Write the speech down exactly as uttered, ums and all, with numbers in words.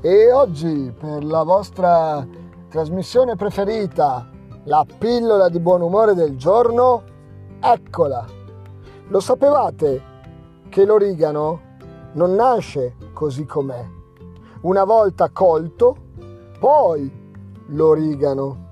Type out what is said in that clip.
E oggi per la vostra trasmissione preferita, la pillola di buon umore del giorno, eccola! Lo sapevate che l'origano non nasce così com'è? Una volta colto, poi l'origano.